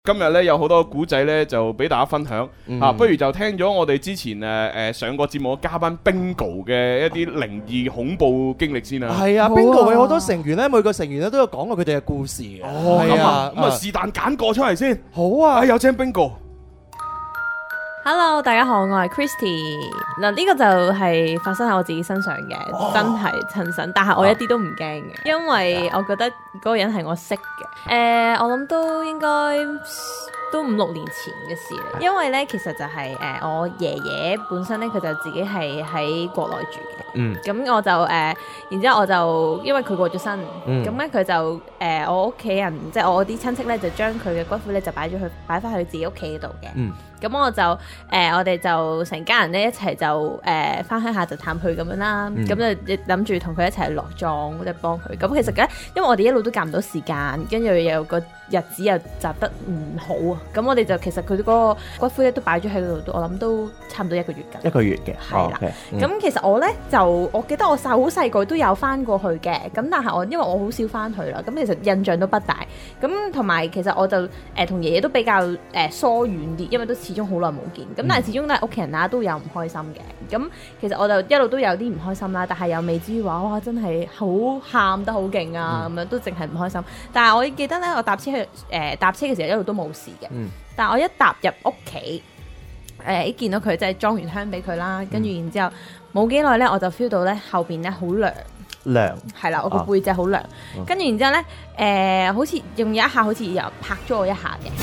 今日咧有好多古仔咧，就俾大家分享不如就聽咗我哋之前上個節目嘅嘉賓 Bingo 嘅一啲靈異恐怖經歷先啦。 係啊，Bingo 有好多成員咧，每個成員咧都有講過佢哋嘅故事嘅。 咁啊，是但揀個出嚟先。 好啊， 有請 Bingo。 Hello， 大家好，我係 Christy。嗱，呢個就係發生喺我自己身上嘅，真係親身，但係我一啲都唔驚嘅，因為我覺得嗰個人係我識嘅。我諗都應該都5-6年前嘅事嚟，因為咧其實就係我爺爺本身咧佢就自己係喺國內住嘅，咁我就然之後我就因為佢過咗身，咁咧佢就我屋企人即係我啲親戚咧就將佢嘅骨灰咧就擺翻去自己屋企度嘅。咁我就我哋就成家人咧一齊就翻鄉下就探佢咁樣啦，咁就諗住同佢一齊落葬即係幫佢。咁其實咧，因為我哋一路都夾唔到時間，跟住又個日子又集得唔好啊，咁我哋就其實佢嗰個骨灰咧都擺咗喺嗰度，我諗都差唔多1個月㗎。 1個月嘅， 係啦。咁其實我咧就我記得我好細個都有翻過去嘅，咁但係因為我好少翻去啦，咁其實印象都不大。咁同埋其實我就同爺爺都比較疏遠啲，因為都始終好耐冇見，咁但係始終都係屋企人啦，都有唔開心嘅。咁其實我就一路都有啲唔開心啦，但係又未至於話哇真係好喊得好勁啊咁樣，都淨係唔開心。但係我記得咧，我搭車嘅時候一路都冇事嘅，但係我一踏入屋企，見到佢即係裝完香俾佢啦，跟住然之後冇幾耐咧，我就 feel 到咧後邊咧好涼，係啦，我個背脊好涼，跟住然之後咧好似用有一下好似又拍咗我一下嘅。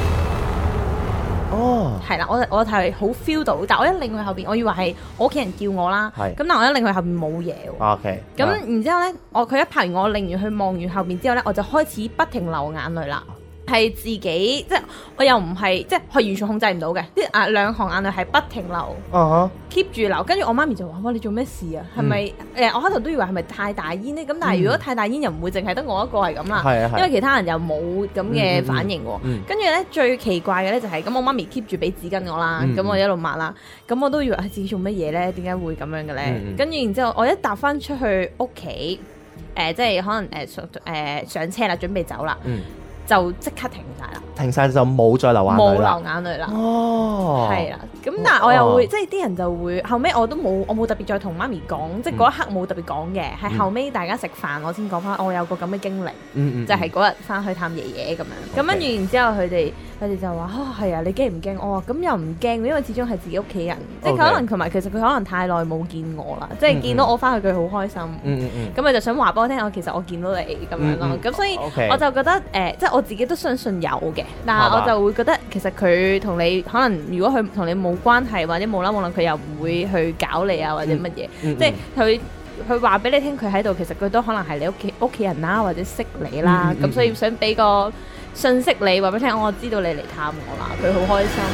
係啦，我係好 feel 到，但我一擰去後邊，我以為係我屋企人叫我啦，咁但係我一擰去後邊冇嘢喎。咁然之後咧，佢一拍完我擰完去望完後邊之後咧，我就開始不停流眼淚啦。係自己即係我又唔係即係完全控制唔到嘅，啲兩行眼淚係不停流，keep 住流。跟住我媽咪就話：哇，你做咩事啊？係咪我開頭都以為係咪太大煙呢？咁但係如果太大煙又唔會淨係得我一個係咁啦，因為其他人又冇咁嘅反應喎。跟住咧最奇怪嘅咧就係咁，我媽咪 keep 住俾紙巾我啦，咁我一路抹啦，咁我都以為自己做乜嘢咧？點解會咁樣嘅咧？跟住然之後我一搭翻出去屋企，即係可能上車啦，準備走啦。就即刻停晒啦， 停晒就冇再流眼淚啦，冇流眼淚啦。係啦，咁但係我又會即係啲人就會後尾我冇特別再同媽咪講，即係嗰一刻冇特別講嘅，係後尾大家食飯我先講翻，我有個咁嘅經歷，就係嗰日翻去探爺爺咁樣。咁跟住然之後佢哋就話係啊，你驚唔驚？我話咁又唔驚，因為始終係自己屋企人，即係可能同埋其實佢可能太耐冇見我啦，即係見到我翻去佢好開心，咁佢就想話俾我聽，其實我見到你咁樣咯。咁所以我就覺得即係我自己都相信有嘅，但係我就會覺得其實佢同你可能如果佢同你冇關係或者冇啦冇啦，佢又唔會去搞你啊或者乜嘢，即係佢話俾你聽佢喺度，其實佢都可能係你屋企人啦或者識你啦，咁所以想俾個信息你話俾你聽，我知道你嚟探我啦，佢好開心。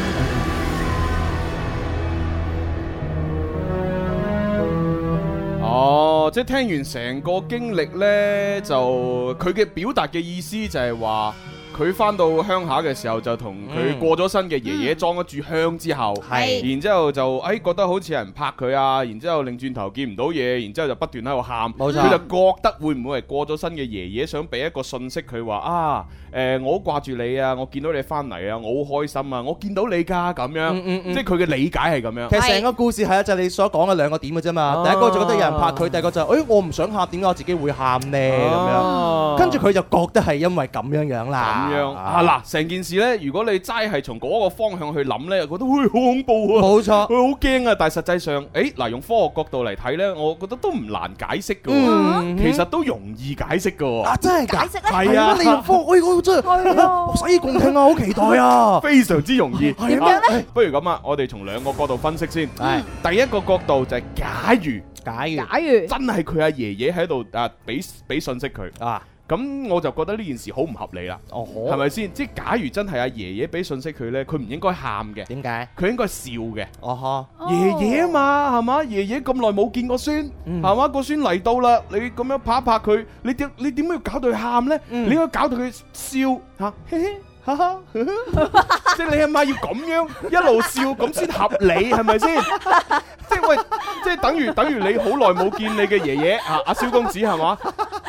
即係聽完成個經歷呢，就佢嘅表達嘅意思就係話，佢翻到鄉下嘅時候就同佢過咗身嘅爺爺裝一炷香之後，然之後就覺得好似有人拍佢啊，然之後擰轉頭見唔到嘢，然之後就不斷喺度喊，佢就覺得會唔會係過咗身嘅爺爺想俾一個信息佢話我好掛住你啊，我見到你翻嚟啊，我好開心啊，我見到你㗎咁樣，即係佢嘅理解係咁樣。 其實成個故事係就係你所講嘅2個點嘅啫嘛。第一個就覺得有人拍佢，第二個就我唔想喊，點解我自己會喊呢？咁樣，跟住佢就覺得係因為咁樣啦。 咁樣嗱，成件事呢，如果你齋係從嗰個方向去諗呢，覺得會好恐怖啊，冇錯，佢好驚啊。但係實際上，嗱，用科學角度嚟睇呢，我覺得都唔難解釋㗎，其實都容易解釋㗎。 真係解釋係啊，你用科學，真係洗耳恭聽啊，好期待啊， 非常之容易。 點樣呢？ 不如咁啊，我哋從2個角度分析先。第一個角度就係假如真係佢阿爺爺喺度俾信息佢啊。咁我就覺得呢件事好唔合理啦，係咪先？即係假如真係阿爺爺俾信息佢呢，佢唔應該喊嘅。點解？佢應該笑嘅。爺爺啊嘛，係嘛？爺爺咁耐冇見個孫，係嘛？個孫嚟到啦，你咁樣拍一拍佢，你點解要搞到佢喊呢？你應該搞到佢笑嚇，嘻嘻。即係你阿媽要咁樣一路笑咁先合理，係咪先？即係喂，即係等於你好耐冇見你嘅爺爺阿蕭公子係嘛？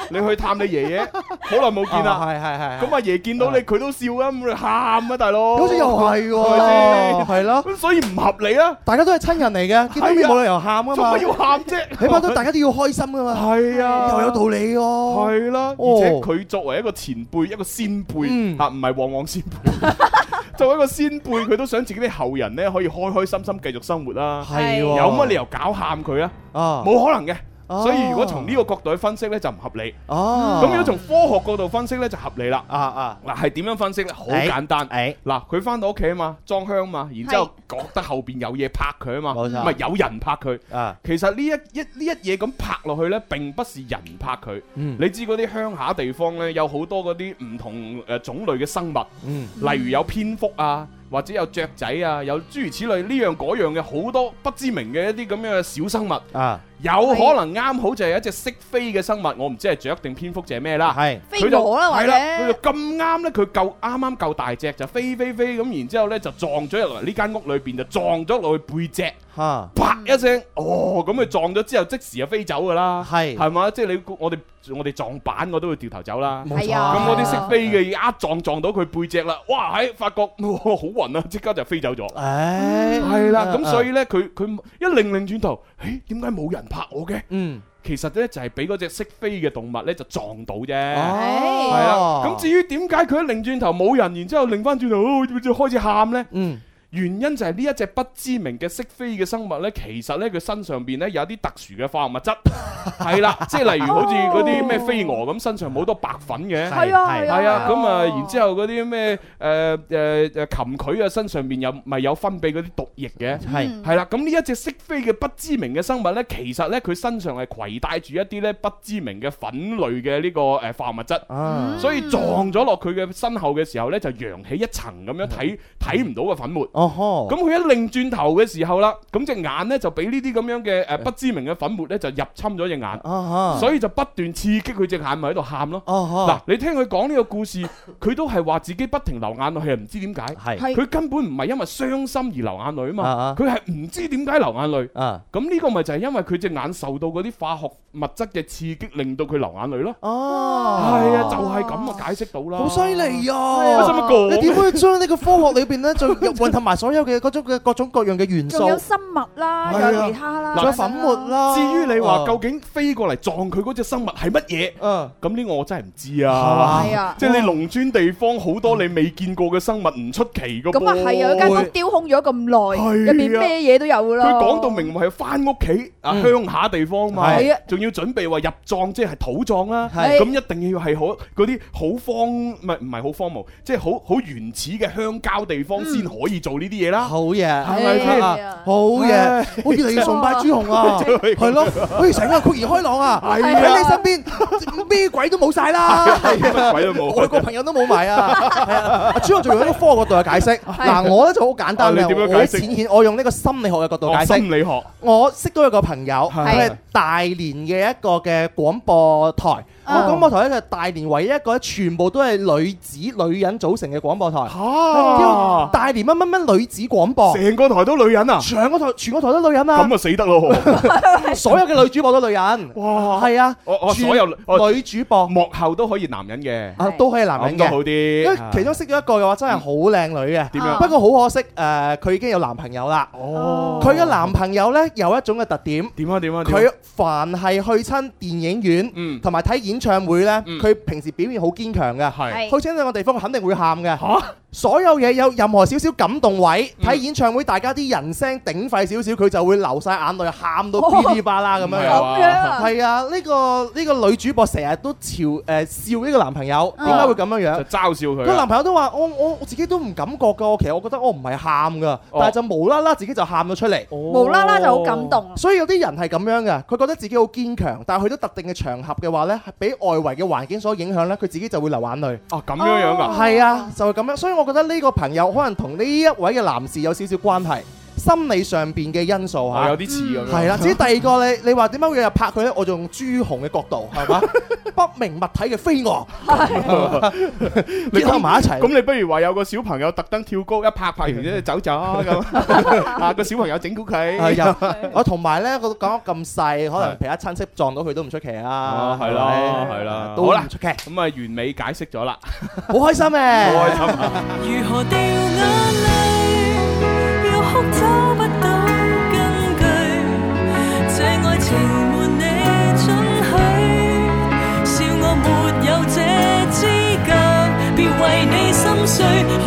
你去探你爺爺，好耐冇見啦。 係。 咁阿爺見到你，佢都笑啊，咁你喊啊，大佬。 好似又係喎，係咯。 所以唔合理啊！ 大家都係親人嚟嘅，見到面冇理由喊噶嘛。 做乜要喊啫？ 起碼都大家都要開心噶嘛。係啊，又有道理喎。 係啦，而且佢作為一個前輩，一個先輩嚇，唔係旺旺先輩。作為一個先輩，佢都想自己啲後人咧可以開開心心繼續生活啦。 係， 有乜理由搞喊佢啊？冇可能嘅。所以如果從呢個角度去分析咧，就唔合理。咁如果從科學角度分析咧，就合理啦。嗱，係點樣分析咧？好簡單。嗱，佢翻到屋企啊嘛，裝香嘛，然之後覺得後邊有嘢拍佢啊嘛，唔係有人拍佢。其實呢一嘢咁拍落去咧，並不是人拍佢。你知嗰啲鄉下地方咧，有好多嗰啲唔同種類嘅生物，例如有蝙蝠啊。或者有雀仔啊，有諸如此類呢樣嗰樣嘅好多不知名嘅一啲咁樣嘅小生物啊，有可能啱好就係一隻識飛嘅生物，我唔知係雀定蝙蝠定係咩啦，係飛蛾啦，或者佢就咁啱咧，佢啱啱夠大隻就飛咁，然之後咧就撞咗入嚟呢間屋裏邊，就撞咗落去背脊，啪一聲，咁佢撞咗之後即時就飛走噶啦，係嘛，即係我哋撞板我都會掉頭走啦，咁嗰啲識飛嘅一撞到佢背脊啦，哇發覺好暈啊，即刻就飛走咗，係啦，咁所以咧佢一擰轉頭，點解冇人拍我嘅？其實咧就係俾嗰隻識飛嘅動物咧就撞到啫，係啦。咁至於點解佢一擰轉頭冇人，然之後擰翻轉頭就開始喊咧？原因就係呢一隻不知名嘅識飛嘅生物呢，其實呢，佢身上邊呢有啲特殊嘅化學物質，係啦，即係例如好似嗰啲咩飛蛾咁，身上冇好多白粉嘅，係啊，咁啊，然之後嗰啲咩蠄蟝啊，身上邊有分泌嗰啲毒液嘅，係啦，咁呢一隻識飛嘅不知名嘅生物呢，其實呢，佢身上係攜帶住一啲呢不知名嘅粉類嘅呢個化學物質，所以撞咗落佢嘅身後嘅時候呢，就揚起一層咁樣睇唔到嘅粉末。咁佢一擰轉頭嘅時候啦，咁隻眼呢就俾呢啲咁樣嘅不知名嘅粉末呢就入侵咗隻眼，所以就不斷刺激佢隻眼，咪喺度喊咯。嗱，你聽佢講呢個故事，佢都係話自己不停流眼淚，係唔知點解，佢根本唔係因為傷心而流眼淚啊嘛，佢係唔知點解流眼淚。咁呢個咪就係因為佢隻眼受到嗰啲化學物質嘅刺激，令到佢流眼淚咯。係啊，就係咁啊，解釋到啦。 好犀利啊！你點可以將呢個科學裏邊呢就混合埋所有嘅各種各樣嘅元素？仲有生物啦，有其他啦，仲有粉末啦。至於你話究竟飛過嚟撞佢嗰隻生物係乜嘢？咁呢個我真係唔知啊。係啊，即係你農村地方好多你未見過嘅生物，唔出奇噶。咁啊係啊，有間屋丟空咗咁耐，入邊咩嘢都有噶啦。佢講到明係翻屋企啊，鄉下地方嘛，仲要準備話入葬，即係土葬啦。咁一定要係好嗰啲好唔係好荒蕪，即係好原始嘅鄉郊地方先可以做呢啲嘢啦。好嘢，係咪先？好嘢，我越嚟越崇拜朱紅啊！係咯，好似成個豁然開朗啊！喺你身邊咩鬼都冇晒啦，乜鬼都冇，外國朋友都冇埋啊！係啊，朱紅仲用一個科學角度去解釋。嗱，我咧就好簡單嘅，我用呢個心理學嘅角度解釋。心理學，我識到一個朋友，佢係大連嘅一個嘅廣播台。廣播台咧就係大連唯一一個全部都係女人組成嘅廣播台。叫大連乜乜乜女子廣播，成個台都女人啊！全個台都女人啊！咁啊死得咯！所有嘅女主播都女人。哇！係啊，所有女主播幕後都可以男人嘅，都可以男人嘅，好啲。因為其中識咗一個嘅話，真係好靚女嘅。點樣？不過好可惜，佢已經有男朋友啦。哦。佢嘅男朋友咧有一種嘅特點。點啊？佢凡係去親電影院，同埋睇演唱會咧，佢平時表現好堅強嘅。係。去親兩個地方，肯定會喊嘅。嚇！所有嘢有任何少少感動位，睇演唱會大家啲人聲鼎沸少少，佢就會流晒眼淚，喊到噼里啪啦咁樣樣。係啊，呢個女主播成日都笑呢個男朋友，點解會咁樣樣？就嘲笑佢。個男朋友都話：我自己都唔感覺㗎，其實我覺得我唔係喊㗎，但係就無啦啦自己就喊咗出嚟，無啦啦就好感動。所以有啲人係咁樣嘅，佢覺得自己好堅強，但係去到特定嘅場合嘅話呢，係俾外圍嘅環境所影響呢，佢自己就會流眼淚。哦，咁樣樣㗎？係啊，就係咁樣。所以我覺得呢個朋友可能同呢一位嘅男士有少少關係。 心理上邊嘅因素嚇， 有啲似咁樣。 係啦，至於第二個你話點解會有拍佢咧？我就用朱紅嘅角度係嘛，不明物體嘅飛蛾，結合埋一齊。 咁你不如話有個小朋友特登跳高一拍完之後走咗咁，啊個小朋友整蠱佢。 係啊，我同埋咧，我講得咁細，可能其他親戚撞到佢都唔出奇啊。 係啦，係啦， 都唔出奇。 咁啊，完美解釋咗啦， 好開心嘅， 好開心啊！ 如何掉眼淚，要哭找不到根據，這愛情沒你准許，笑我沒有這資格，別為你心碎。